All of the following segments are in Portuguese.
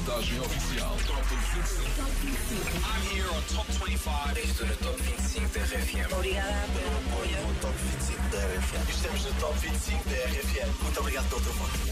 contagem oficial. Top 25. Top 25. I'm here on Top 25. Estou no Top 25 da RFM. Obrigada pelo apoio. No Top 25 da RFM. Estamos no Top 25 da RFM. Muito obrigado pelo teu voto.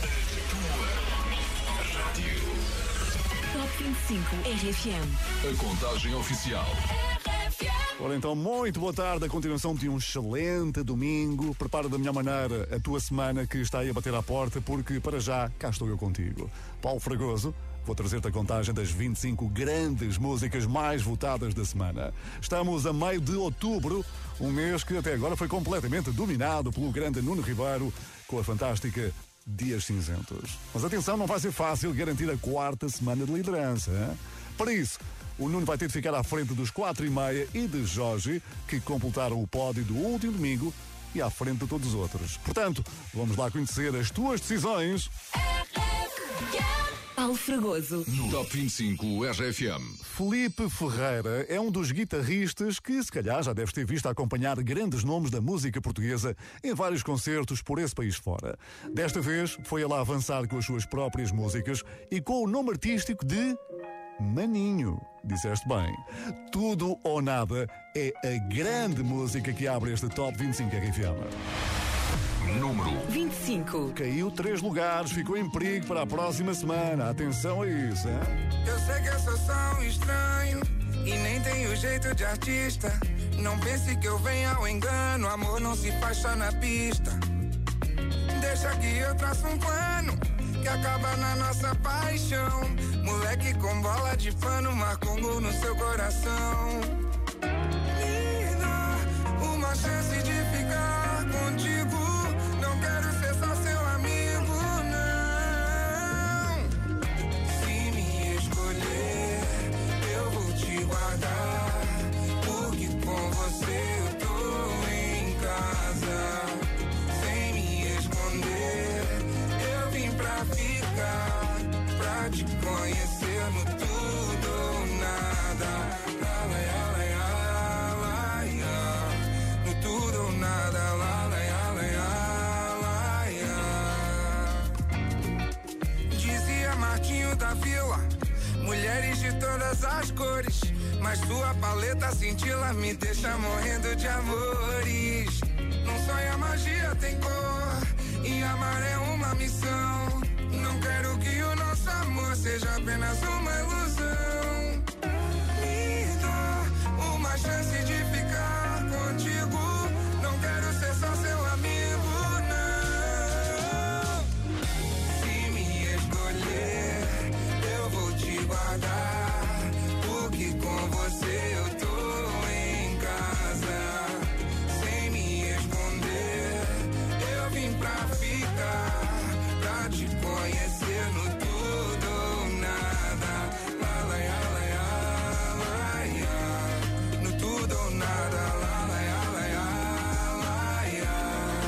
Top 25 RFM. A contagem oficial. Ora então, muito boa tarde, a continuação de um excelente domingo. Prepara da melhor maneira a tua semana que está aí a bater à porta, porque para já, cá estou eu contigo. Paulo Fragoso, vou trazer-te a contagem das 25 grandes músicas mais votadas da semana. Estamos a meio de outubro, um mês que até agora foi completamente dominado pelo grande Nuno Ribeiro, com a fantástica Dias Cinzentos. Mas atenção, não vai ser fácil garantir a quarta semana de liderança, hein? Para isso, o Nuno vai ter de ficar à frente dos 4,5 e de Jorge, que completaram o pódio do último domingo e à frente de todos os outros. Portanto, vamos lá conhecer as tuas decisões. Paulo Fragoso. No Top 25 RFM. Felipe Ferreira é um dos guitarristas que, se calhar, já deves ter visto acompanhar grandes nomes da música portuguesa em vários concertos por esse país fora. Desta vez, foi ele a avançar com as suas próprias músicas e com o nome artístico de Maninho. Disseste bem. Tudo ou Nada é a grande música que abre este Top 25 RFM. Número 25. Caiu 3 lugares, ficou em perigo para a próxima semana. Atenção a isso, hein? Eu sei que eu sou só um estranho e nem tenho jeito de artista. Não pense que eu venho ao engano, amor não se faz só na pista. Deixa que eu traço um plano que acaba na nossa paixão. Moleque com bola de pano marca um gol no seu coração. Me dá uma chance de ficar contigo. Não quero ser só seu amigo, não. Se me escolher, eu vou te guardar, porque com você eu tô em casa. Sem me esconder, eu vim pra ficar, pra te conhecer no tudo ou nada. La, la, la, la, la, la. No tudo ou nada. La, la, la, la, la. Dizia Martinho da Vila, mulheres de todas as cores, mas sua paleta cintila me deixa morrendo de amores. Não sonha, magia tem cor, e amar é uma missão. Não quero que o nosso amor seja apenas uma ilusão. Me dá uma chance de ficar contigo. Não quero ser só seu amigo, não. Se me escolher, eu vou te guardar, porque com você eu tô em casa. Sem me esconder, eu vim pra ficar, pra te conhecer no tudo ou nada. La, la, la, la, la. No tudo ou nada. La, la, la, la, la.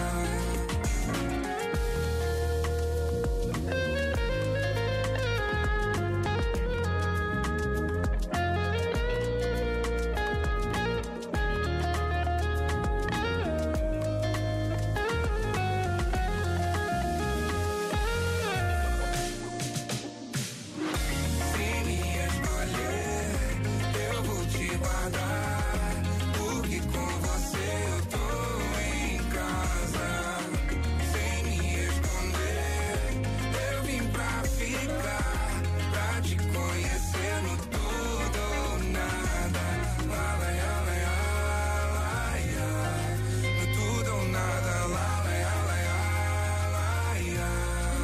Se me escolher, eu vou te guardar, porque com você eu tô em casa. Sem me esconder, eu vim pra ficar, pra te conhecer no tudo ou nada. La, la, la, la, la. No tudo ou nada. La, la, la, la, la.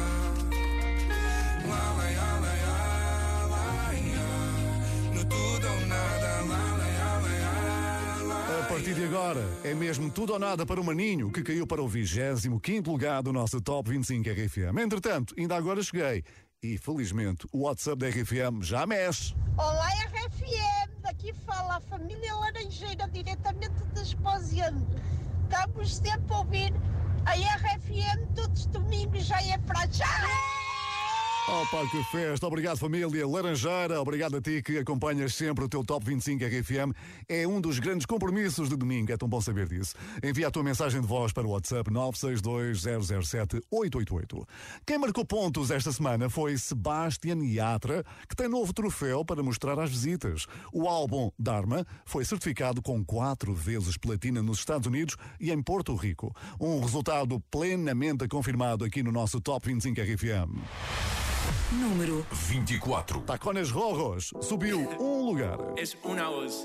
La, la, la, la, la. No tudo ou nada. La, la, la, la. A partir de agora, é mesmo tudo ou nada para o Maninho, que caiu para o 25º lugar do nosso Top 25 RFM. Entretanto, ainda agora cheguei e, felizmente, o WhatsApp da RFM já mexe. Olá, RFM, daqui fala a família Laranjeira, diretamente de Esposiano. Estamos sempre a ouvir a RFM todos os domingos, já é para já! Opa, que festa! Obrigado, família Laranjeira. Obrigado a ti que acompanhas sempre o teu Top 25 RFM. É um dos grandes compromissos de domingo. É tão bom saber disso. Envia a tua mensagem de voz para o WhatsApp 962-007-888. Quem marcou pontos esta semana foi Sebastian Yatra, que tem novo troféu para mostrar às visitas. O álbum Dharma foi certificado com 4 vezes platina nos Estados Unidos e em Porto Rico. Um resultado plenamente confirmado aqui no nosso Top 25 RFM. Número 24. Tacones Rojos subiu um lugar. Es una voz.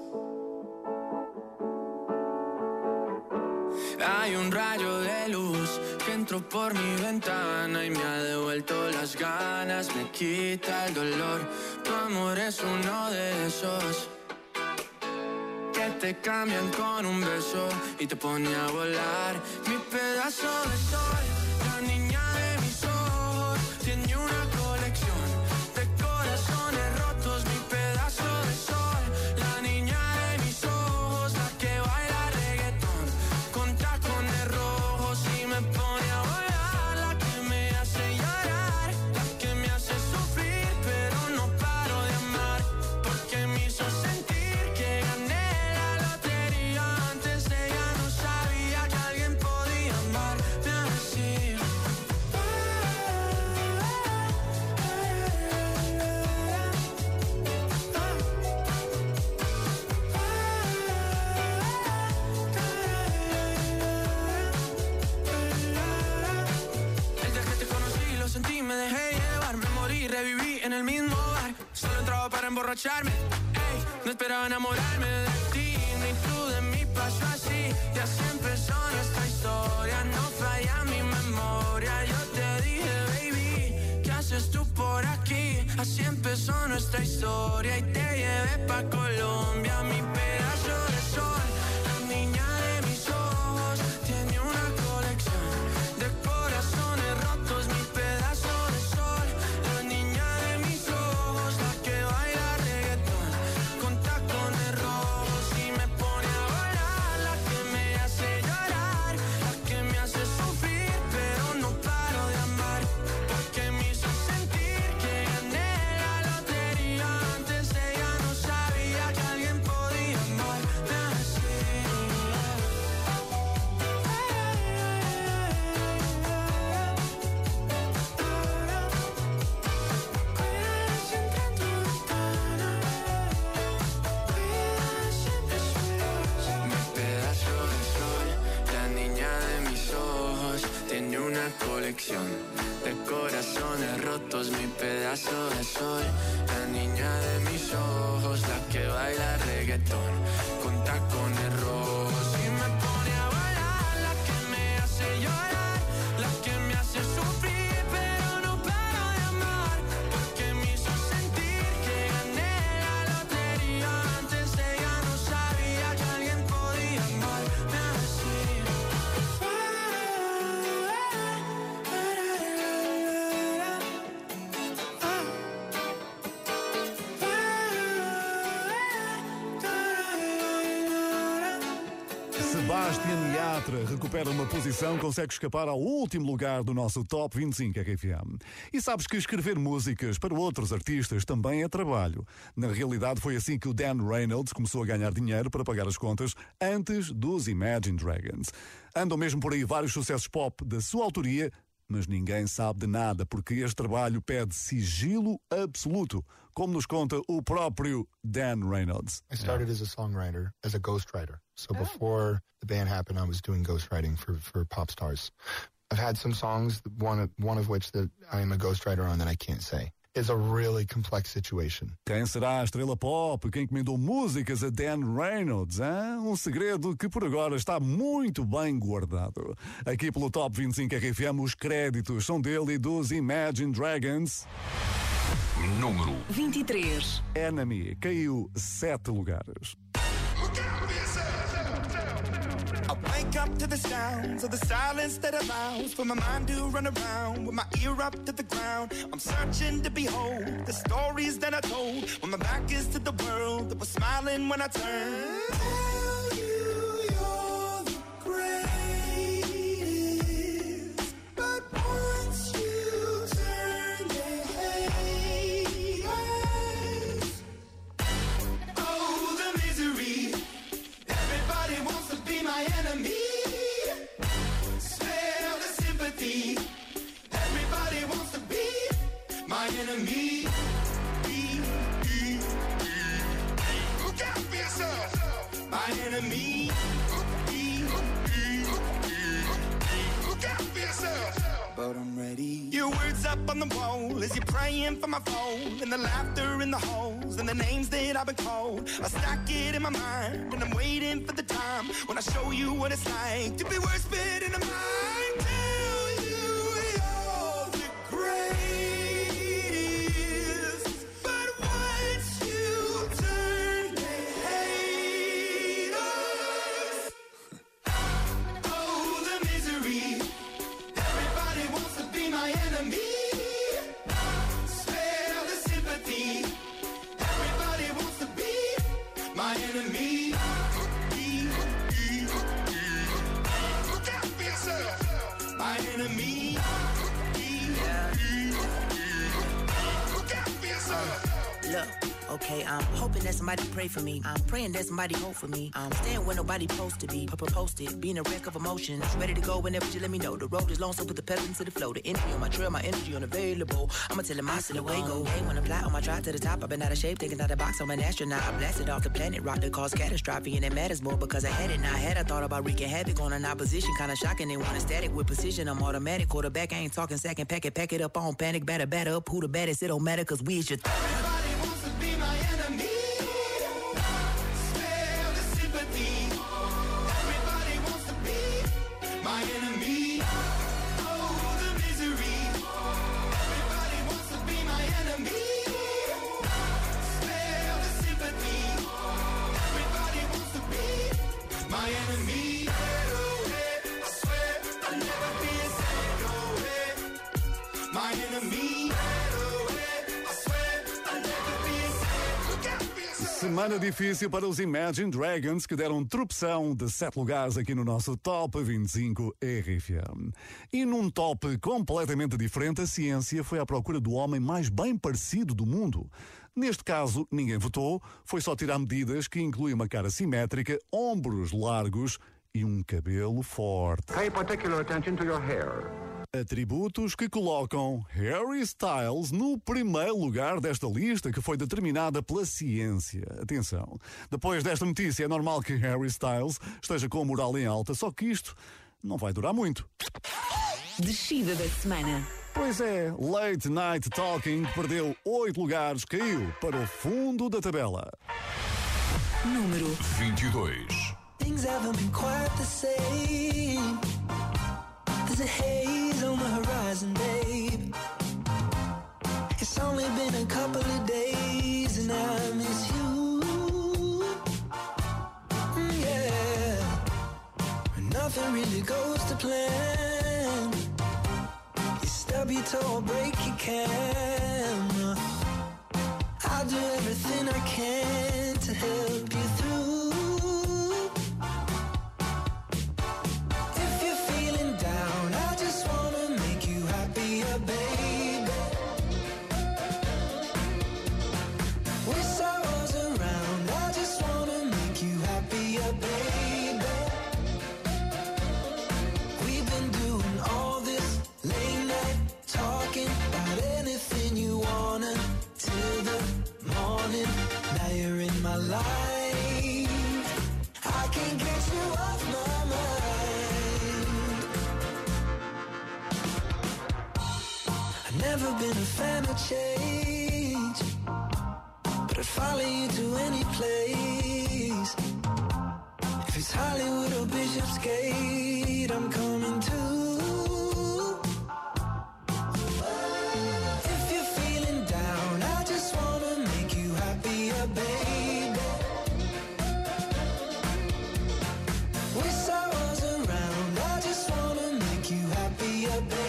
Hay un rayo de luz que entró por mi ventana y me ha devuelto las ganas, me quita el dolor. Tu amor es uno de esos que te cambian con un beso y te pone a volar. Mi pedazo de sol, la niña de mis ojos, tiene una colección de corazones rotos. Mi pedazo de sol, la niña de mis ojos, la que baila reggaetón con tacones rojos y me pone a volar. La que me hace llorar, la que me hace sufrir, pero no paro de amar, porque me hizo sentir que gané la lotería. Antes ella no sabía que alguien podía amarme así. El día que te conocí lo sentí, me dejé llevar, me morí, reviví en el mismo bar. Solo entraba para emborracharme, ey, no esperaba enamorarme de ti, ni tú de mí pasó así. Y así empezó nuestra historia, no falla mi memoria. Yo te dije, baby, ¿qué haces tú por aquí? Así empezó nuestra historia y te llevé pa' Colombia. Mi pedazo de sol, la niña de mis ojos, tiene una colección de corazones rotos. Mi pedazo de sol, la niña de mis ojos, la que baila reggaetón con tacones rojos y me pone a volar. La que me hace llorar, la que me hace sufrir, pero no paro de amar, porque me hizo sentir que gané la lotería. Antes ella no sabía que alguien podía amarme así. Mi pedazo de sol, la niña de mis ojos, tiene una colección de corazones rotos. Mi pedazo de sol, la niña de mis ojos, la que baila reggaetón con tacones rojos y me pone a volar. La que me hace llorar, la que me hace sufrir, pero no paro de amar, porque me hizo sentir que gané la lotería. Antes ella no sabía que alguien podía amarme así. Sebastian Yatra recupera uma posição, consegue escapar ao último lugar do nosso Top 25 RFM. E sabes que escrever músicas para outros artistas também é trabalho. Na realidade foi assim que o Dan Reynolds começou a ganhar dinheiro para pagar as contas antes dos Imagine Dragons. Andam mesmo por aí vários sucessos pop da sua autoria, mas ninguém sabe de nada, porque este trabalho pede sigilo absoluto, como nos conta o próprio Dan Reynolds. I started as a songwriter, as a ghostwriter. So before the band happened, I was doing ghostwriting for pop stars. I've had some songs, one of which that I am a ghostwriter on that I can't say. It's a really complex situation. Quem será a estrela pop? Quem encomendou músicas a Dan Reynolds? Hein? Um segredo que por agora está muito bem guardado. Aqui pelo Top 25 RFM, os créditos são dele e dos Imagine Dragons. Número 23. Enemy caiu 7 lugares. I wake up to the sounds of the silence that allows for my mind to run around with my ear up to the ground. I'm searching to behold the stories that I told when my back is to the world that was smiling when I turned. Tell you you're the greatest, but once you turn, they hate. but I'm ready. Your words up on the wall as you're praying for my phone, and the laughter in the halls and the names that I've been called. I stack it in my mind and I'm waiting for the time when I show you what it's like to be worse fit in a mind. Tell you you're the greatest, but once you turn they hate us. Oh, the misery. Everybody wants to be my enemy. Spare the sympathy. Everybody wants to be my enemy. Look out for yourself. My enemy. Look out for yourself. Look, okay, I'm hoping that somebody pray for me. I'm praying that somebody hope for me. I'm staying where nobody supposed to be. Posted, being a wreck of emotions. Ready to go whenever you let me know. The road is long, so put the pedal into the flow. The energy on my trail, my energy unavailable. I'ma tell him I still away go. Hey, when I fly on my drive to the top, I've been out of shape, thinking out the box. I'm an astronaut. I blasted off the planet, rock that caused catastrophe, and it matters more because I had it. Now I had I thought about wreaking havoc on an opposition, kinda shocking. They want a static with precision. I'm automatic, quarterback. I ain't talking second pack it up on panic, batter up. Who the baddest? It don't matter, cause we is your. Everybody wants to be my enemy. Spare the sympathy. Everybody wants to be my enemy. Oh, the misery. Everybody wants to be my enemy. Spare the sympathy. Everybody wants to be my enemy. I swear I'll never be a sad away. My enemy. Semana difícil para os Imagine Dragons, que deram tropeção de 7 lugares aqui no nosso Top 25 RFM. E num top completamente diferente, a ciência foi à procura do homem mais bem parecido do mundo. Neste caso, ninguém votou, foi só tirar medidas que incluem uma cara simétrica, ombros largos e um cabelo forte. Pay particular attention to your hair. Atributos que colocam Harry Styles no primeiro lugar desta lista que foi determinada pela ciência. Atenção, depois desta notícia é normal que Harry Styles esteja com a moral em alta, só que isto não vai durar muito. Descida da semana. Pois é, Late Night Talking perdeu 8 lugares, caiu para o fundo da tabela. Número 22. Things haven't been quite the same. There's a haze on the horizon, babe. It's only been a couple of days and I miss you. Yeah. Nothing really goes to plan. You stub your toe or break your camera. I'll do everything I can to help you through. Never been a fan of change, but I'd follow you to any place. If it's Hollywood or Bishopsgate, I'm coming too. If you're feeling down, I just wanna make you happier, baby. Wish I was around, I just wanna make you happier, baby.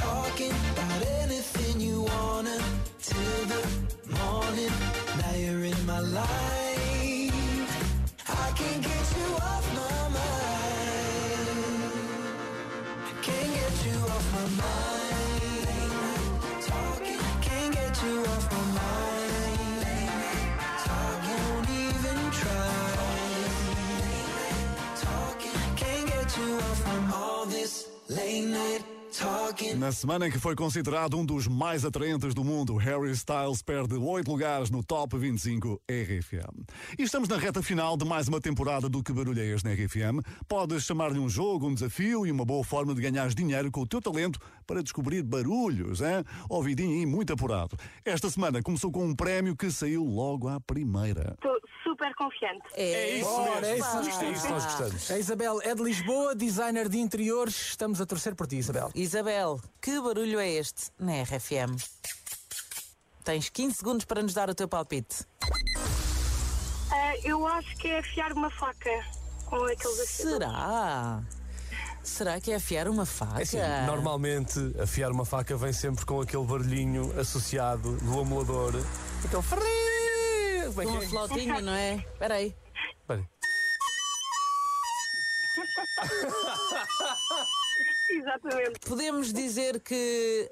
Now you're in my life. I can't get you off my mind. Can't get you off my mind. Talking, can't get you off my mind. I won't even try. Talking, can't get you off from all this late night. Na semana em que foi considerado um dos mais atraentes do mundo, Harry Styles perde 8 lugares no Top 25 RFM. E estamos na reta final de mais uma temporada do Que Barulho é Este na RFM. Podes chamar-lhe um jogo, um desafio e uma boa forma de ganhar dinheiro com o teu talento para descobrir barulhos, hein? Ouvidinho aí muito apurado. Esta semana começou com um prémio que saiu logo à primeira. Estou super confiante. É isso mesmo. É isso que nós gostamos. A Isabel é de Lisboa, designer de interiores. Estamos a torcer por ti, Isabel. Isabel, que barulho é este na RFM? Tens 15 segundos para nos dar o teu palpite. Eu acho que é afiar uma faca com aqueles afiadores. Será que é afiar uma faca? É assim, normalmente afiar uma faca vem sempre com aquele barulhinho associado do amolador. Aquele ferrinho. Com uma flautinha, não é? Espera aí. Exatamente. Podemos dizer que...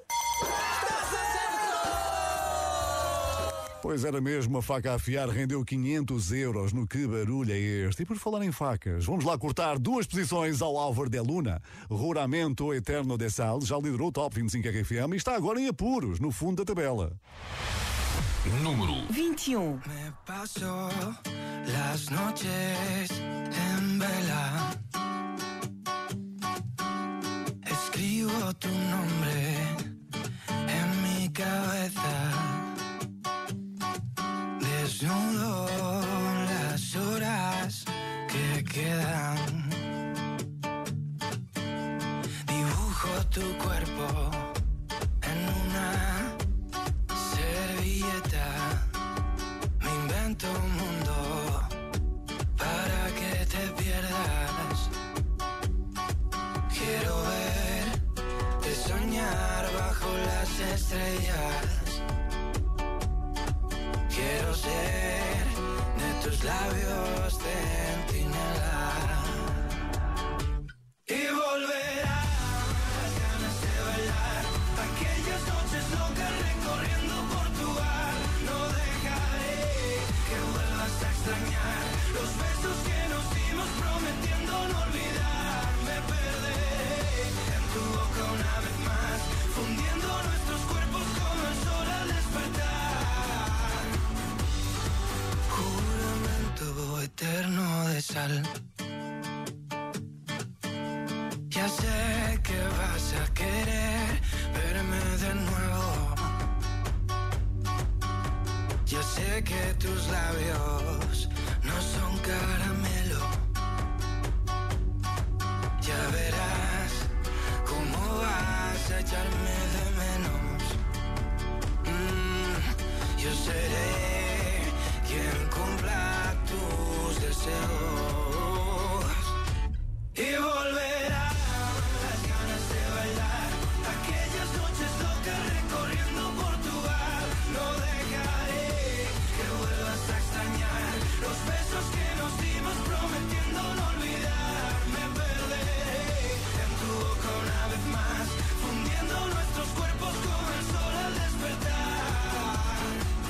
Pois era mesmo, a faca a afiar rendeu 500 euros no Que Barulho é Este. E por falar em facas, vamos lá cortar 2 posições ao Álvaro de Luna. Juramento Eterno de Sal já liderou o Top 25 RFM e está agora em apuros, no fundo da tabela. Número 21. Me paso las noches en vela. Escribo tu nombre en mi cabeza. Desnudo las horas que quedan. Dibujo tu cuerpo en una servilleta. Me invento un mundo para que te pierdas. Quiero verte soñar bajo las estrellas. Quiero ser de tus labios centinela. Y volverán las ganas de bailar. Aquellas noches locas recorriendo Portugal. No dejaré que vuelvas a extrañar los besos que nos dimos prometiendo no olvidar. Me perderé en tu boca una vez más, fundiendo nuestros cuerpos como el sol al despertar. Juramento eterno de sal. Ya sé que vas a querer verme de nuevo. Ya sé que tus labios no son caramelo. Ya verás cómo vas a echarme de menos. Yo seré quien cumpla tus deseos. Y volverán las ganas de bailar. Aquellas noches locas recorriendo Portugal. No dejaré que vuelvas a extrañar los besos que nos dimos prometiendo no olvidar. Me perderé en tu boca una vez más, fundiendo nuestros cuerpos como el sol al despertar.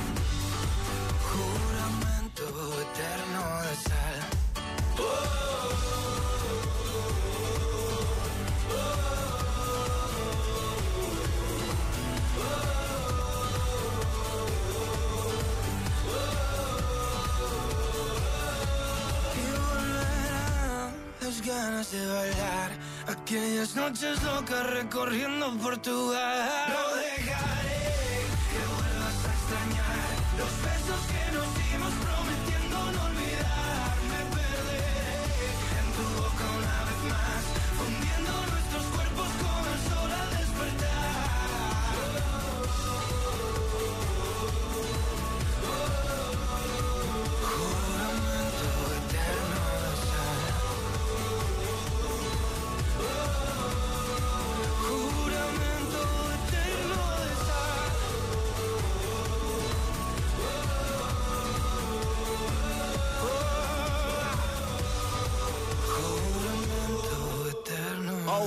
Juramento eterno de sal. Ganas de bailar, aquellas noches locas recorriendo Portugal. No dejaré que vuelvas a extrañar los besos que nos dimos prometiendo no olvidar. Me perderé en tu boca una vez más, fundiendo nuestros cuerpos como el sol al despertar. Juramento eterno de sal. Juramento eterno de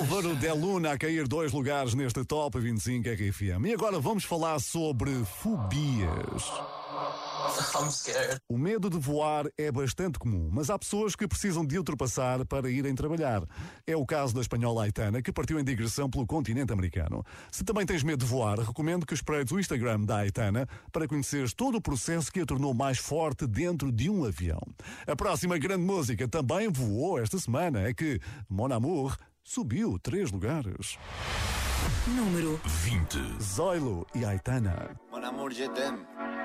Álvaro de Luna a cair 2 lugares neste Top 25 RFM. E agora vamos falar sobre fobias. I'm scared. O medo de voar é bastante comum, mas há pessoas que precisam de ultrapassar para irem trabalhar. É o caso da espanhola Aitana, que partiu em digressão pelo continente americano. Se também tens medo de voar, recomendo que espreites o Instagram da Aitana para conheceres todo o processo que a tornou mais forte dentro de um avião. A próxima grande música também voou esta semana, é que Mon Amour subiu 3 lugares. Número 20. Zoilo e Aitana. Mon Amour, je t'aime.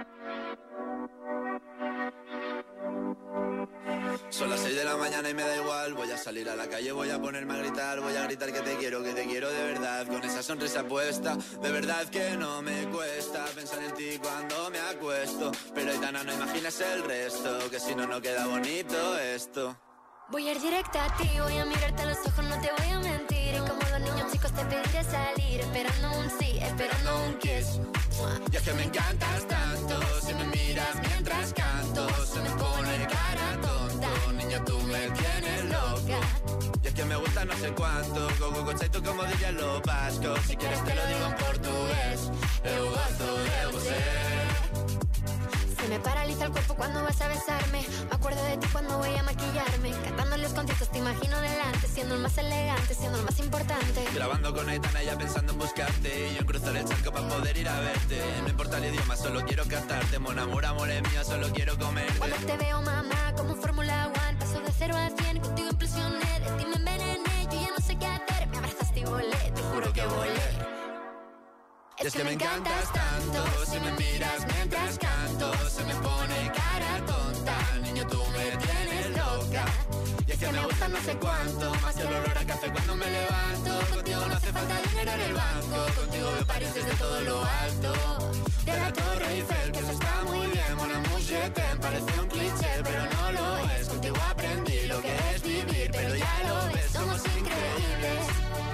Son las 6 de la mañana y me da igual. Voy a salir a la calle, voy a ponerme a gritar. Voy a gritar que te quiero de verdad. Con esa sonrisa puesta, de verdad que no me cuesta pensar en ti cuando me acuesto. Pero Aitana, no imaginas el resto, que si no, no queda bonito esto. Voy a ir directa a ti, voy a mirarte a los ojos, no te voy a mentir. Y como los niños chicos te pediré salir, esperando un sí, esperando un kiss. Y es que me encantas tanto, si me miras mientras canto, se me pone cara tonta. Niña, tú me tienes loca. Y es que me gusta no sé cuánto, tú como dirían los vascos. Si quieres te lo digo en portugués, eu gosto de você. Se me paraliza el cuerpo cuando vas a besarme. Me acuerdo de ti cuando voy a maquillarme. Cantando los conciertos te imagino delante, siendo el más elegante, siendo el más importante. Grabando con Aitana ya pensando en buscarte, y yo en cruzar el charco para poder ir a verte. No importa el idioma, solo quiero cantarte. Mon amour, amor es mío, solo quiero comerte. Cuando te veo, mamá, como un Fórmula 1, paso de 0 a 100, contigo impresioné. De ti me envenené, yo ya no sé qué hacer. Me abrazaste y volé, te juro que volé. Y es que me encantas tanto, si me miras mientras canto, se me pone cara tonta. Niño, tú me tienes loca. Y es que me gusta no sé cuánto, más que el olor a café cuando me levanto. Contigo no hace falta dinero en el banco, contigo veo París desde todo lo alto. De la Torre Eiffel, que eso está muy bien. Mon amour, je t'aime, parece un cliché, pero no lo es. Contigo aprendí lo que es vivir, pero ya lo ves, somos increíbles.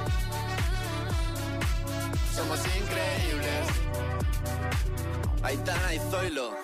Somos increíbles. Aitana y Zoilo.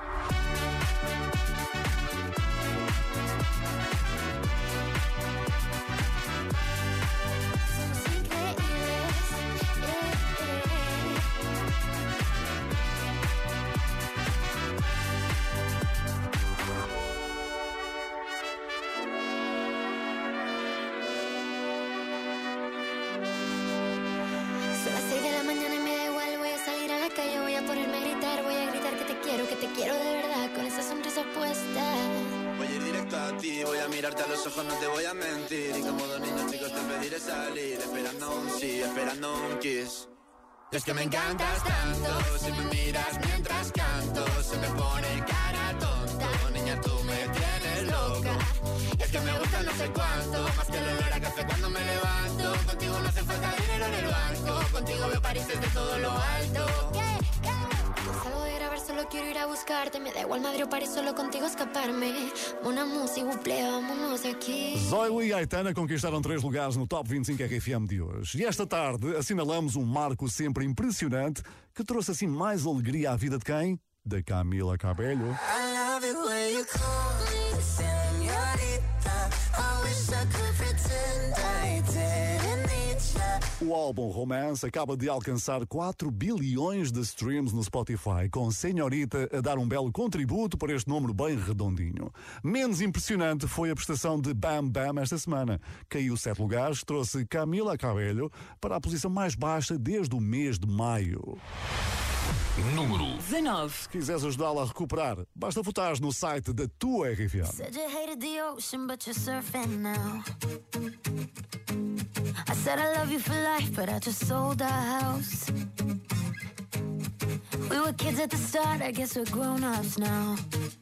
Voy a mirarte a los ojos, no te voy a mentir. Y como dos niños chicos te pediré salir, esperando un sí, esperando un kiss. Y es que me encantas tanto, si me miras mientras canto, se me pone cara tonta. Niña, tú me tienes loca. Y es que me gusta no sé cuánto, más que el olor a café cuando me levanto. Contigo no hace falta dinero en el banco, contigo veo París desde todo lo alto. Salgo de grabar, solo quiero ir a buscarte. Me da igual Madrid o París, solo contigo escaparme. Una música, buple, vámonos de aqui. Zoilo e Aitana conquistaram 3 lugares no Top 25 RFM de hoje. E esta tarde assinalamos um marco sempre impressionante que trouxe assim mais alegria à vida de quem? Da Camila Cabello. I love it when you call me señorita. I wish I could pretend I didn't need you. O álbum Romance acaba de alcançar 4 bilhões de streams no Spotify, com Senhorita a dar um belo contributo para este número bem redondinho. Menos impressionante foi a prestação de Bam Bam esta semana. Caiu 7 lugares, trouxe Camila Cabello para a posição mais baixa desde o mês de maio. Número 19. Se quiseres ajudá-la a recuperar, basta votar no site da tua RFM. Said you hated the ocean, but you're surfing now. I said I love you for life, but I just sold our house. We were kids at the start, I guess we're grown-ups now.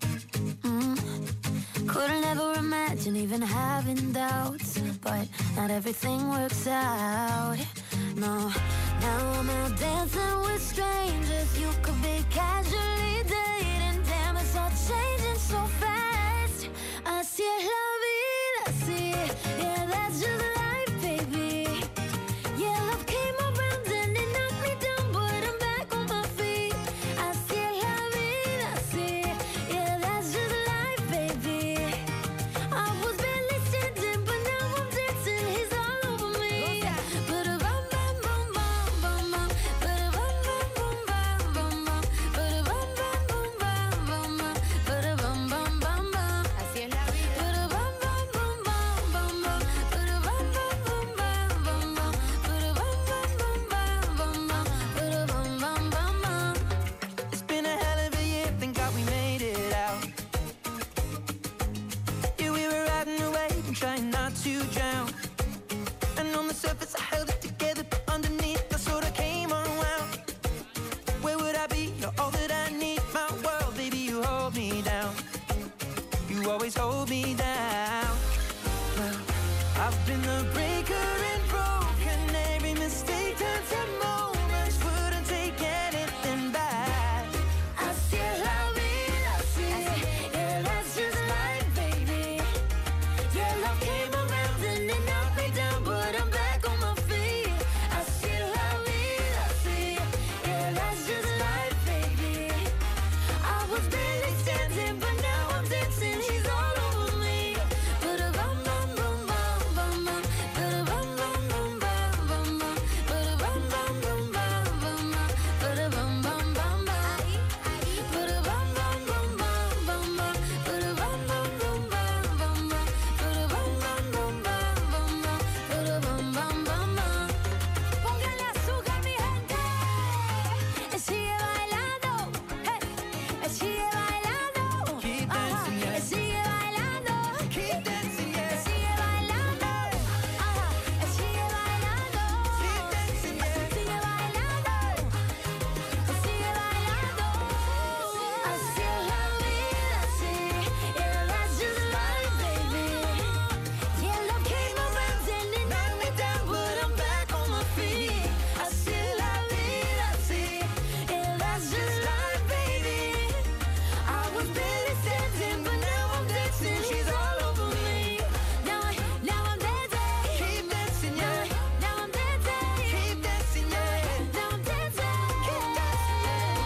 Couldn't ever imagine even having doubts, but not everything works out. No, now I'm out dancing with strangers. You could be casually dating. Damn, it's all changing so fast. Así es la vida, sí. Yeah, that's just life, baby. Yeah, love came around and it knocked me down, but I'm back on my feet. Así es la vida, sí. Yeah, that's just life, baby. I was barely standing, but now I'm dancing. He's all over me. always hold me down. Well, I've been the breaker and broken. Every mistake turns to moments. Wouldn't take anything back. I still love it, I see. Yeah, that's just life, baby. Your love came around and it knocked me down, but I'm back on my feet. I still love it, I see. Yeah, that's just life, baby. I was barely standing, but now I'm dancing. She's all over me. But a bum bum bum bum bum bum. But a bum bum bum bum bum bum. But a bum bum bum bum bum bum. But a bum bum bum bum. But a bum bum bum bum bum bum. But a bum bum bum bum bum bum. But a bum bum bum bum bum bum. But a bum bum bum bum. Póngale azúcar, mi gente. Sigue bailando. Hey. Sigue bailando. Keep dancing, yeah. Sigue bailando. Keep dancing, yeah. Sigue bailando. Sigue bailando. Keep dancing, yeah. Sigue bailando. Sigue bailando. I still love it, I see. Yeah, that's just life, baby. Yeah, love came around and it knocked me down, but I'm back on my feet. I still love it, I see. Yeah, that's just life, baby. I was barely standing, but now I'm dancing. She's all over me. Now I'm dancing. Keep dancing, yeah. Now I'm dancing. Keep dancing, yeah. Now I'm dancing. Keep dancing, yeah.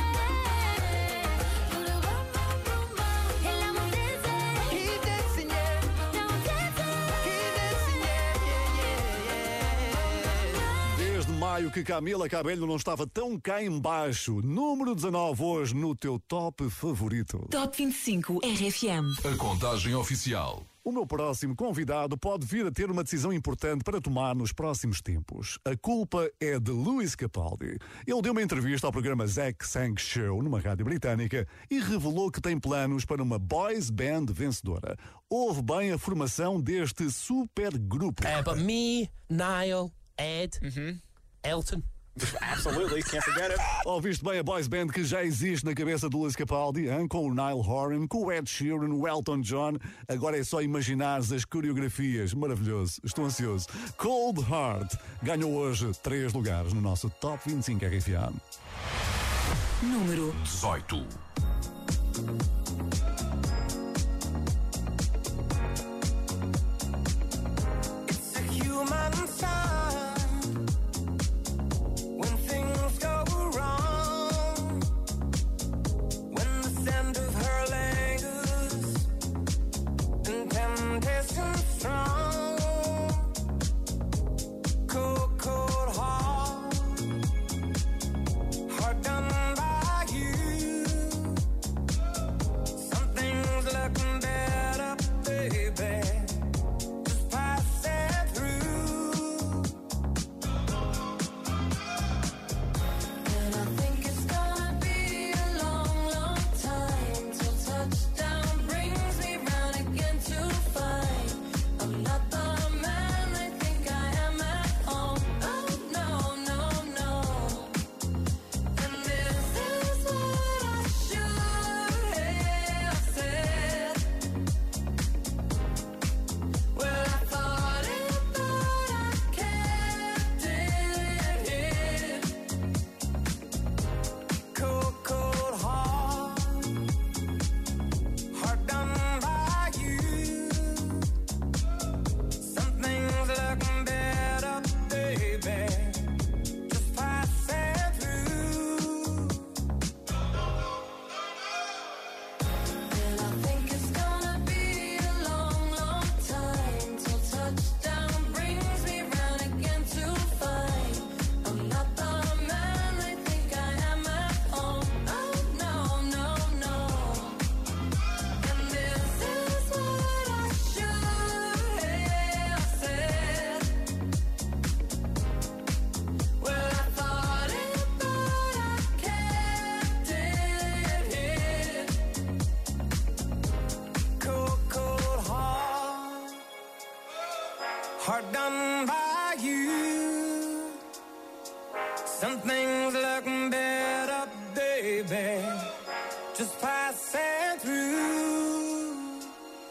Put a bum bum bum bum. And now I'm dancing. Keep dancing, yeah. Now I'm dancing. Keep dancing, yeah. Desde maio que Camila Cabello não estava tão cá em baixo. Número 19 hoje no teu top favorito. Top 25 RFM. A contagem oficial. O meu próximo convidado pode vir a ter uma decisão importante para tomar nos próximos tempos. A culpa é de Lewis Capaldi. Ele deu uma entrevista ao programa Zach Sang Show, numa rádio britânica, e revelou que tem planos para uma boys band vencedora. Ouve bem a formação deste supergrupo. But me, Niall, Ed, Elton. Absolutely, can't forget it. Ouviste bem a boys band que já existe na cabeça do Lewis Capaldi, hein? Com o Niall Horan, com o Ed Sheeran, o Elton John. Agora é só imaginares as coreografias. Maravilhoso, estou ansioso. Cold Heart ganhou hoje 3 lugares no nosso Top 25 RFM. Número 18. It's a human sign when things go wrong, when the scent of her lingers and temptation strong. Cold, cold heart, heart done by you. Something's looking better, baby. Just pass it through. And I think it's gonna be a long, long time till touchdown brings me round again to find I'm not the man they think I am at home. Oh no, no, no. And this is what I should have said. Well, I thought it, but I kept it hid. Cold, cold heart, heart done by you. Something's looking better, baby. Just pass it through. And I think it's gonna be a long, long time till touchdown brings me round again to find I'm not the man they think I am at home. Oh no, no, no. And this is what I should have said. Well, I thought it, but I kept it hid. Cold, cold heart, heart done by you. Something's looking better, baby. Just pass it through.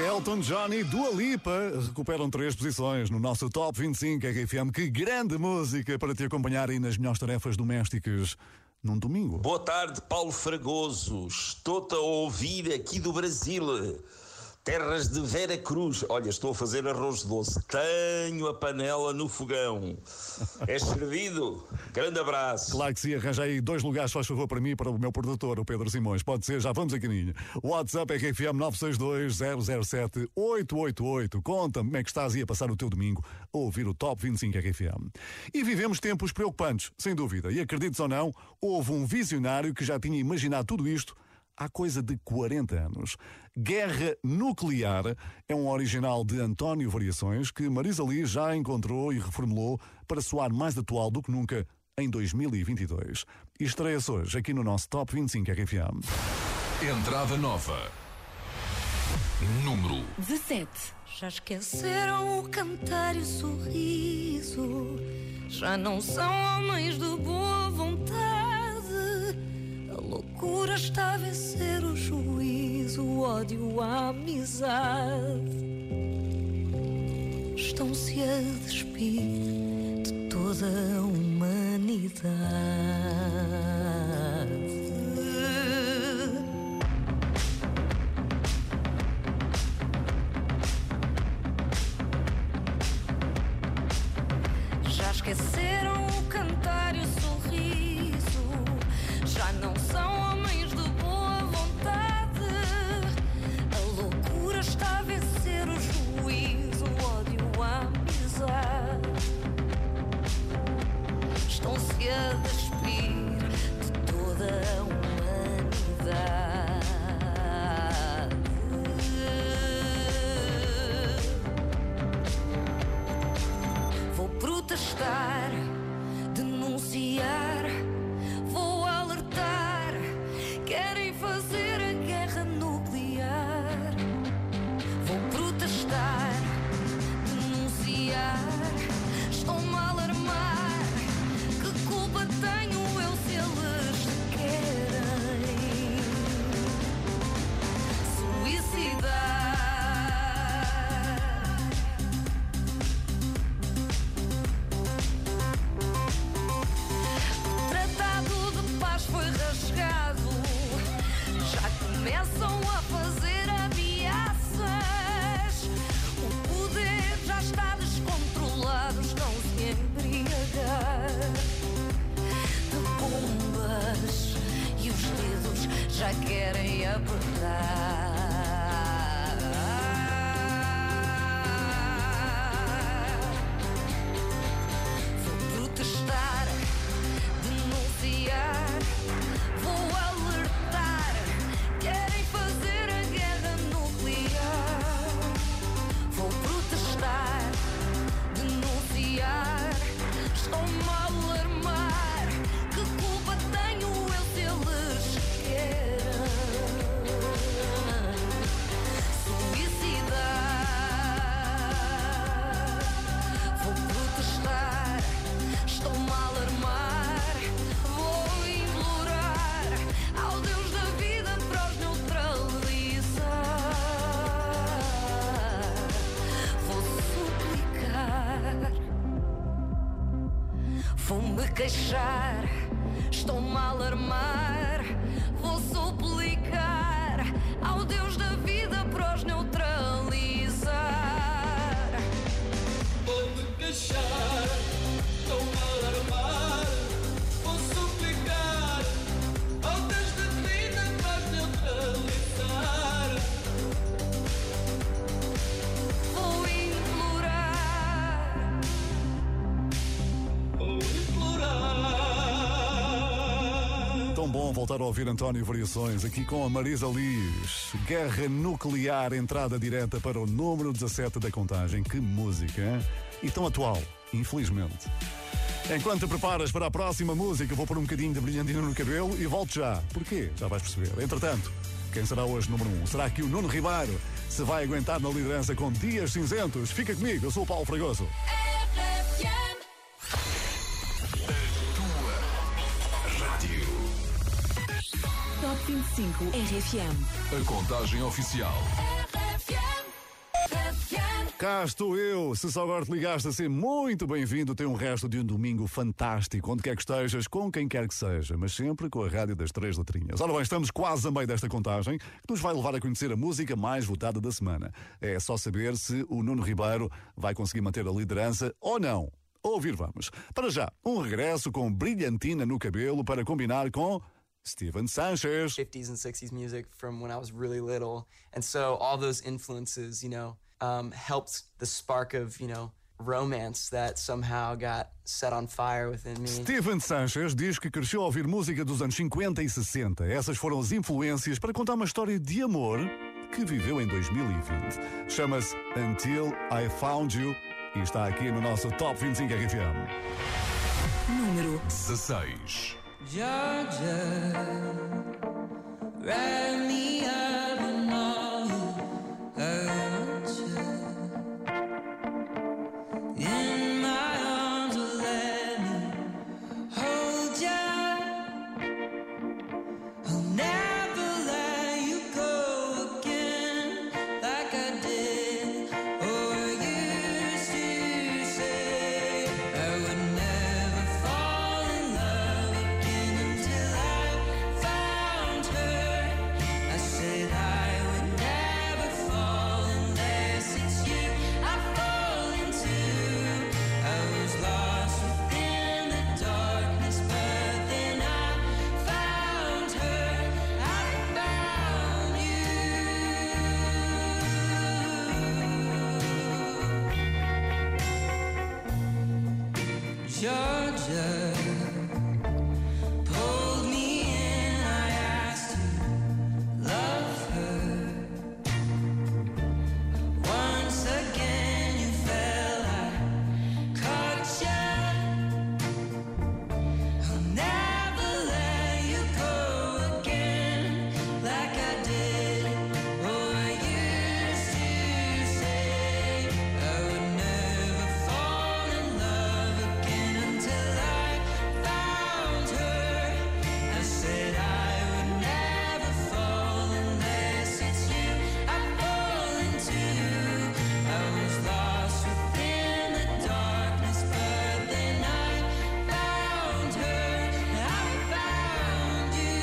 Elton John e Dua Lipa recuperam 3 posições no nosso Top 25 RFM. Que grande música para te acompanhar aí nas melhores tarefas domésticas num domingo. Boa tarde, Paulo Fragoso. Estou-te a ouvir aqui do Brasil. Terras de Vera Cruz. Olha, estou a fazer arroz doce. Tenho a panela no fogão. És servido? Grande abraço. Claro que sim, arranja aí 2 lugares, faz favor, para mim e para o meu produtor, o Pedro Simões. Pode ser, já vamos a caminho. WhatsApp RFM 962-007-888. Conta-me como é que estás aí a passar o teu domingo a ouvir o Top 25 RFM. E vivemos tempos preocupantes, sem dúvida. E acredites ou não, houve um visionário que já tinha imaginado tudo isto há coisa de 40 anos. Guerra Nuclear é um original de António Variações que Marisa Liz já encontrou e reformulou para soar mais atual do que nunca em 2022. E estreia-se hoje aqui no nosso Top 25 RFM. Entrada nova. Número 17. Já esqueceram o cantar e o sorriso, já não são homens de boa vontade. A loucura está a vencer o juízo, o ódio, a amizade. Estão-se a despir de toda a humanidade. Já esqueceram o cantar e o sorriso, já não são homens de boa vontade. A loucura está a vencer o juízo, o ódio, a amizade. Estão-se a despir de toda a humanidade. Vou protestar, denunciar, vou alertar. Querem fazer a guerra nuclear. Vou protestar, denunciar, estão-me a alarmar. Que culpa tenho eu se eles querem suicidar? Foi rasgado, já começam a fazer ameaças. O poder já está descontrolado, estão-se a embriagar de bombas e os dedos já querem apertar. Vou protestar, denunciar, vou alertar. Querem fazer a guerra nuclear. Vou protestar, denunciar, estão-me a alarmar. Que culpa tenho eu se eles querem suicidar? Vou protestar, estão-me a alarmar. Vou implorar ao Deus da vida para os neutralizar. Vou suplicar, vou-me queixar, estão-me a alarmar. Vou suplicar ao Deus da vida para os neutralizar. Vou-me queixar, estão-me a alarmar. Vou suplicar ao Deus da vida para os neutralizar. Vou implorar, vou implorar. Tão bom voltar a ouvir António Variações aqui com a Marisa Liz. Guerra Nuclear, entrada direta para o número 17 da contagem. Que música, hein? E tão atual, infelizmente. Enquanto te preparas para a próxima música, vou pôr um bocadinho de brilhantina no cabelo e volto já. Porquê? Já vais perceber. Entretanto, quem será hoje número 1? Será que o Nuno Ribeiro se vai aguentar na liderança com Dias Cinzentos? Fica comigo, eu sou o Paulo Fragoso. Top 25 RFM. A contagem oficial. Cá estou eu. Se só agora te ligaste a ser muito bem-vindo, tem um resto de um domingo fantástico, onde quer que estejas, com quem quer que seja, mas sempre com a rádio das 3 letrinhas. Ora bem, estamos quase a meio desta contagem, que nos vai levar a conhecer a música mais votada da semana. É só saber se o Nuno Ribeiro vai conseguir manter a liderança ou não. Ouvir vamos. Para já, um regresso com brilhantina no cabelo para combinar com Steven Sanchez. 50s and 60s music from when I was really little. And so all those influences, helped the spark of, romance that somehow got set on fire within me. Steven Sanchez diz que cresceu a ouvir música dos anos 50 e 60. Essas foram as influências para contar uma história de amor que viveu em 2020. Chama-se Until I Found You e está aqui no nosso Top 25 RFM. Número 16. Georgia, write me up and all I want you in my arms, let me hold you. I'll never let you go again like I did or used to say. I would never fall in love again until I found her. I said I would never fall unless it's you I fall into. I was lost within the darkness, but then I found her. I found you. Georgia pulled me in, I asked to love her. Once again you fell, I caught you. I'll never let you go again like I did or used to say. I would never fall in love again until I found her. I said I would never fall unless it's you I fall into. I was lost within the darkness, but then I found her. I found you.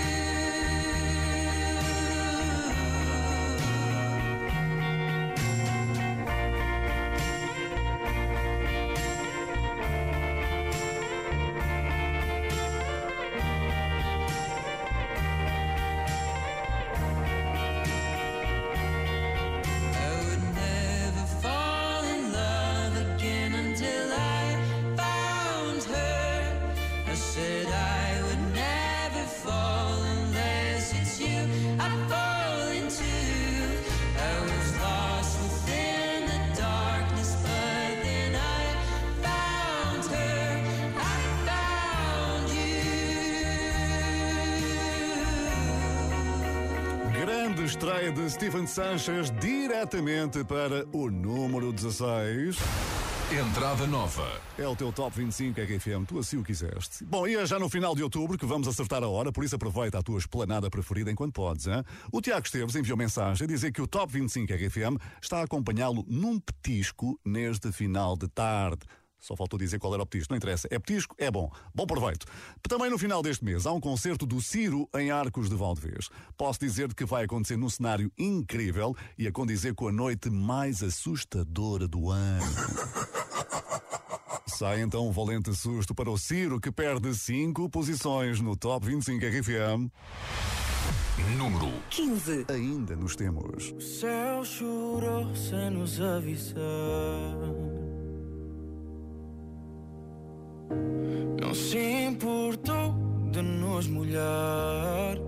I would never fall in love again until I found her. I said I would never fall unless it's you I fall into. I was lost within the darkness, but then I found her. I found you. Grande estreia de Steven Sanchez diretamente para o número 16. Entrada nova. É o teu Top 25 RFM, tu assim o quiseste. Bom, e é já no final de outubro que vamos acertar a hora, por isso aproveita a tua esplanada preferida enquanto podes, hein? O Tiago Esteves enviou mensagem a dizer que o Top 25 RFM está a acompanhá-lo num petisco neste final de tarde. Só faltou dizer qual era o petisco, não interessa. É petisco, é bom. Bom proveito. Também no final deste mês há um concerto do Ciro em Arcos de Valdevez. Posso dizer que vai acontecer num cenário incrível e a condizer com a noite mais assustadora do ano. Sai então um valente susto para o Ciro, que perde 5 posições no Top 25 RFM. Número 15. Ainda nos temos. O céu chorou sem nos avisar. Não se importou de nos molhar.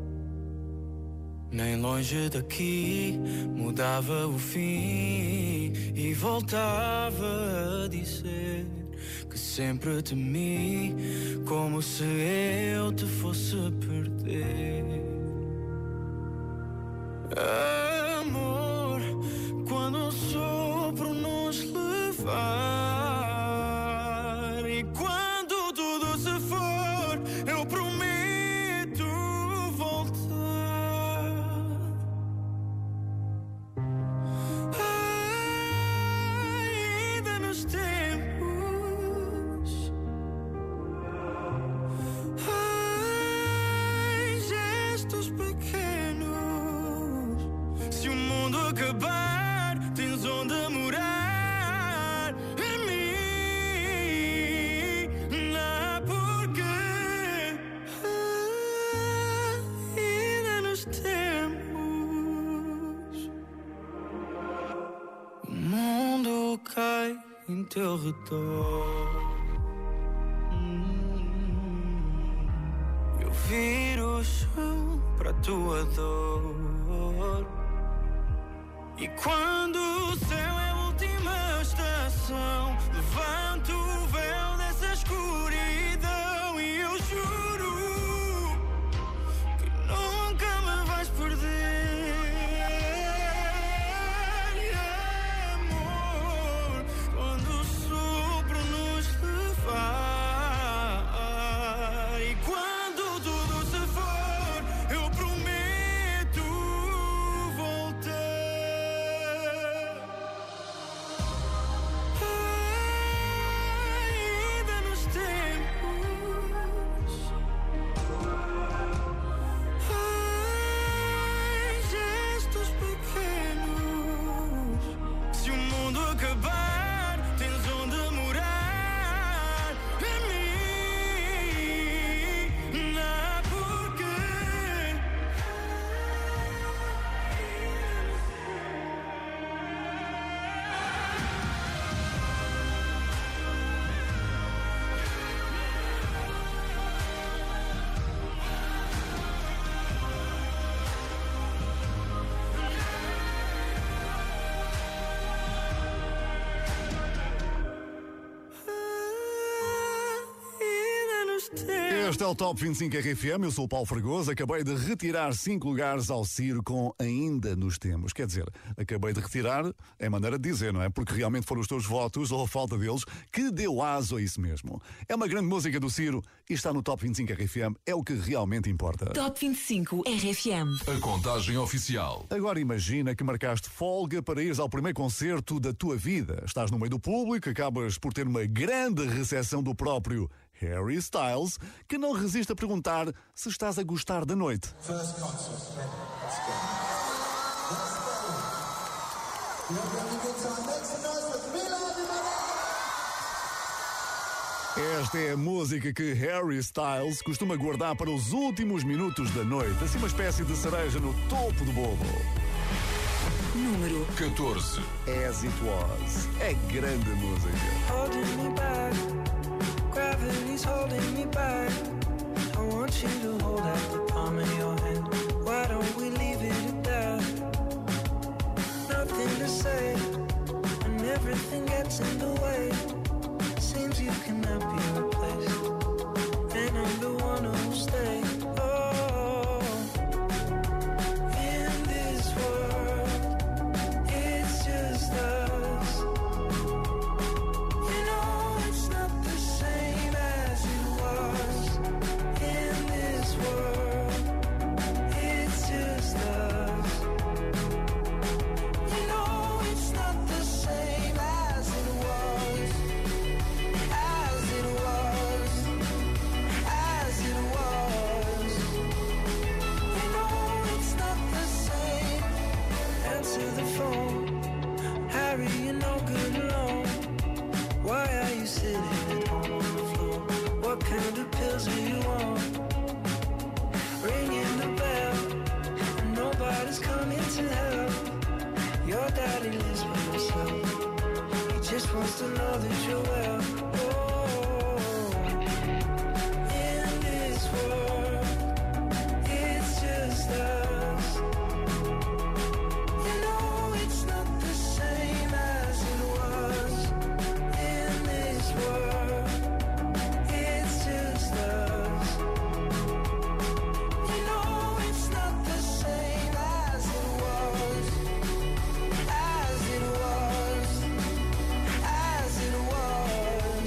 Nem longe daqui mudava o fim e voltava a dizer que sempre temi, como se eu te fosse perder. Amor, quando um sopro nos levar e quando tudo se for, eu prometo voltar. acabar, tens onde morar. Em mim, não, porque ainda nos temos. O mundo cai em teu redor. Eu viro o chão para a tua dor. E quando o céu é a última estação, levanto o véu dessa escuridão e eu juro que nunca me vais perder. Amor, quando o sopro nos levar e quando tudo se for, eu prometo voltar. Ainda nos tempos, gestos pequenos. Se o mundo acabar, tens onde morar. Em mim, não, porque ainda nos tempos. Este é o Top 25 RFM, eu sou o Paulo Fragoso, acabei de retirar 5 lugares ao Ciro com Ainda nos Temos. Quer dizer, acabei de retirar, é maneira de dizer, não é? Porque realmente foram os teus votos, ou a falta deles, que deu aso a isso mesmo. É uma grande música do Ciro e está no Top 25 RFM, é o que realmente importa. Top 25 RFM. A contagem oficial. Agora imagina que marcaste folga para ires ao primeiro concerto da tua vida. Estás no meio do público, acabas por ter uma grande recepção do próprio Harry Styles, que não resiste a perguntar se estás a gostar da noite. First concert, let's go. Let's go. You're having a good time. Make some noise with me, Esta é a música que Harry Styles costuma guardar para os últimos minutos da noite, assim uma espécie de cereja no topo do bolo. Número 14. As It Was. É grande música. Holding me back, gravity's holding me back. I want you to hold out the palm of your hand. Why don't we leave it at that? Nothing to say, and everything gets in the way. Seems you cannot be replaced, and I'm the one who'll stay. Oh, in this world, it's just us. You know it's not the same as it was. In this world, it's just us. You know it's not the same as it was. As it was. As it was. You know it's not the same. Answer the phone. Harry, you're no good alone. Why are you sitting at home on the floor? What kind of pills are you on? Ringing the bell, and nobody's coming to help. Your daddy lives by himself. He just wants to know that you're well. Oh, in this world, it's just us. You know it's not the same as it was. In this world, it's just us. You know it's not the same as it was. As it was. As it was.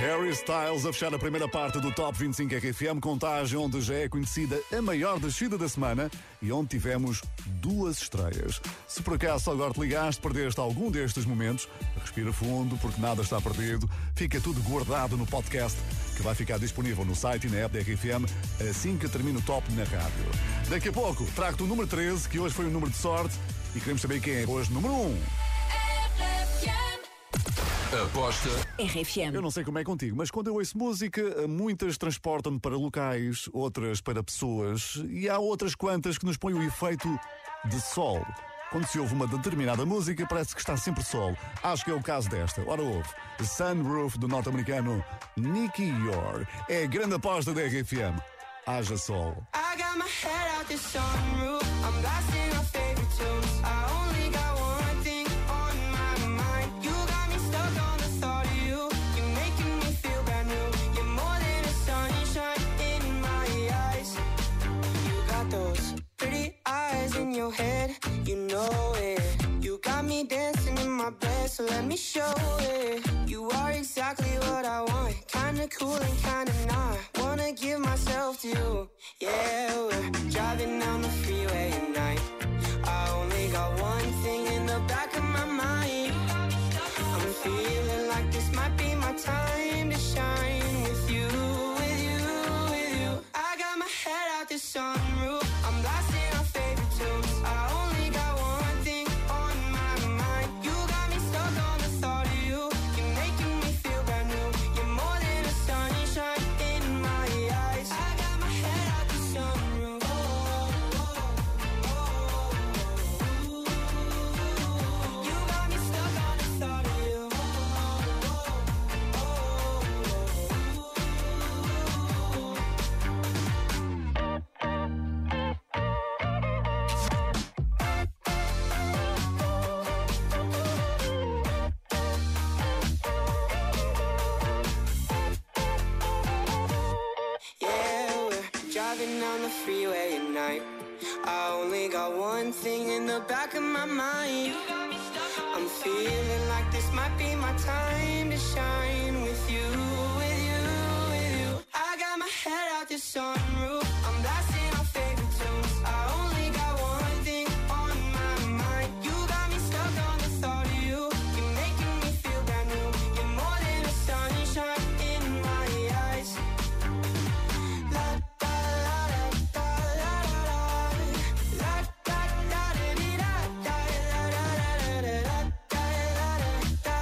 Harry Styles a fechar a primeira parte do Top 25 RFM, contagem onde já é conhecida a maior descida da semana e onde tivemos 2 estreias. Se por acaso só agora te ligaste, perdeste algum destes momentos, respira fundo porque nada está perdido, fica tudo guardado no podcast que vai ficar disponível no site e na app da RFM assim que termine o Top na rádio. Daqui a pouco trago-te o número 13, que hoje foi um número de sorte e queremos saber quem é hoje número 1. Aposta RFM. Eu não sei como é contigo, mas quando eu ouço música, muitas transportam-me para locais, outras para pessoas e há outras quantas que nos põem o efeito de sol. Quando se ouve uma determinada música, parece que está sempre sol. Acho que é o caso desta. Ora, ouve. Sunroof, do norte-americano Nicky Yor. É a grande aposta da RFM. Haja sol. I got my head out the sunroof. I'm blasting our favorite tunes. I only got one thing on my mind. You got me stuck on the thought of you. You're making me feel brand new. You're more than a sunshine in my eyes. You got those pretty eyes in your head. You know it. You got me dancing in my bed, so let me show it. You are exactly what I want. Kinda cool and kinda not. Wanna give myself to you. Yeah, we're driving down the freeway at night. I only got one thing in the back of my mind. I'm feeling like this might be my time to shine with you, with you, with you. I got my head out the sunroof. I'm blasting our favorite tunes. I only got one thing on my mind. You got me stuck on the thought of you. You're making me feel brand new. You're more than a sunshine in my eyes. I got my head out the sunroof. You got me stuck on the thought of you. Yeah, we're driving down the freeway at night. I only got one thing in the back of my mind. I'm feeling like this might be my time to shine with you, with you, with you. I got my head out the sunroof. I'm blasting our favorite tunes. I only got one thing on my mind. You got me stuck on the thought of you. You're making me feel brand new. You're more than a sunshine in my eyes. La da la da la la da da da di da da la da da da da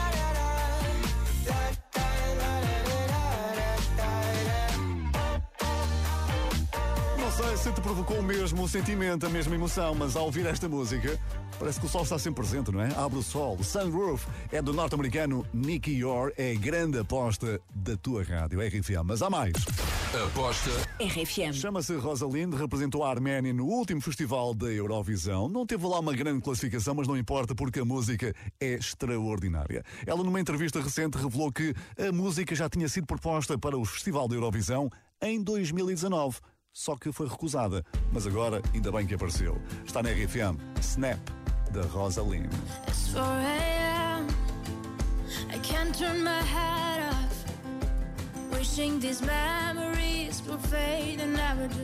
Não sei se te provocou o mesmo sentimento, a mesma emoção, mas ao ouvir esta música, parece que o sol está sempre presente, não é? Abre o sol. Sunroof é do norte-americano Nicky Yor, é a grande aposta da tua rádio, RFM. Mas há mais. Aposta RFM. Chama-se Rosalind, representou a Arménia no último festival da Eurovisão. Não teve lá uma grande classificação, mas não importa porque a música é extraordinária. Ela, numa entrevista recente, revelou que a música já tinha sido proposta para o Festival da Eurovisão em 2019. Só que foi recusada. Mas agora, ainda bem que apareceu. Está na RFM, Snap, da Rosalind. It's 4 a.m. I can't turn my head off. Wishing these memories will fade and never do.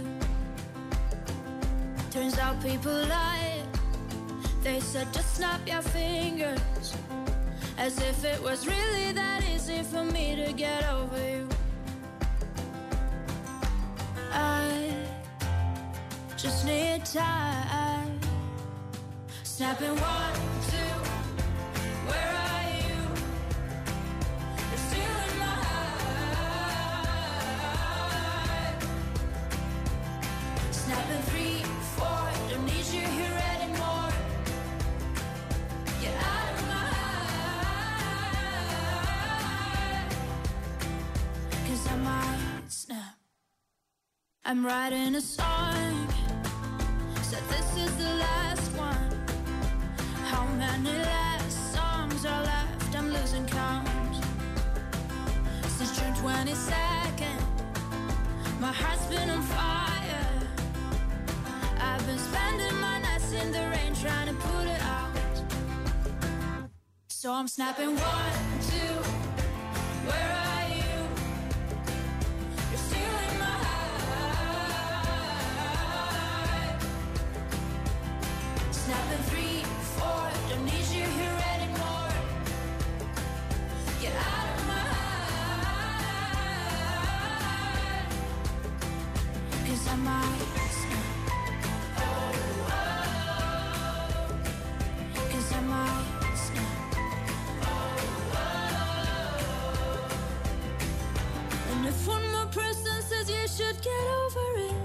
Turns out people lie. They said just snap your fingers. As if it was really that easy for me to get over you. I just need time. Snapping 1, 2, where are you? You're still in my heart. Snapping 3, 4, don't need you here anymore. Get out of my heart. 'Cause I might snap. I'm writing a song, said this is the last one. How many last songs are left? I'm losing count. Since June 22nd, my heart's been on fire. I've been spending my nights in the rain trying to put it out. So I'm snapping 1, 2, where are you? If one more person says you should get over it,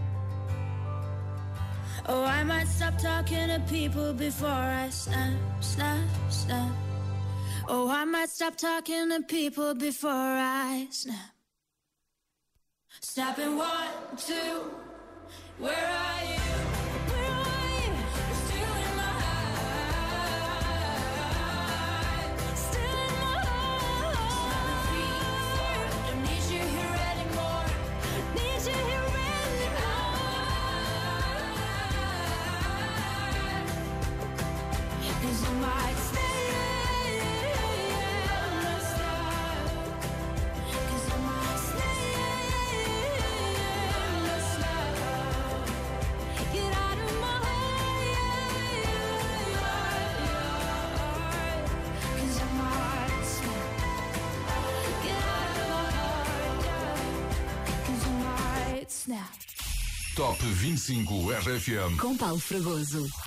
oh, I might stop talking to people before I snap. Oh, I might stop talking to people before I snap. Snapping 1, 2, where are you? Where are you? You're still in my heart. Still in my heart. 3, 4, don't need you here anymore. Need you here anymore. 'Cause I might stay. Top 25 RFM. Com Paulo Fragoso.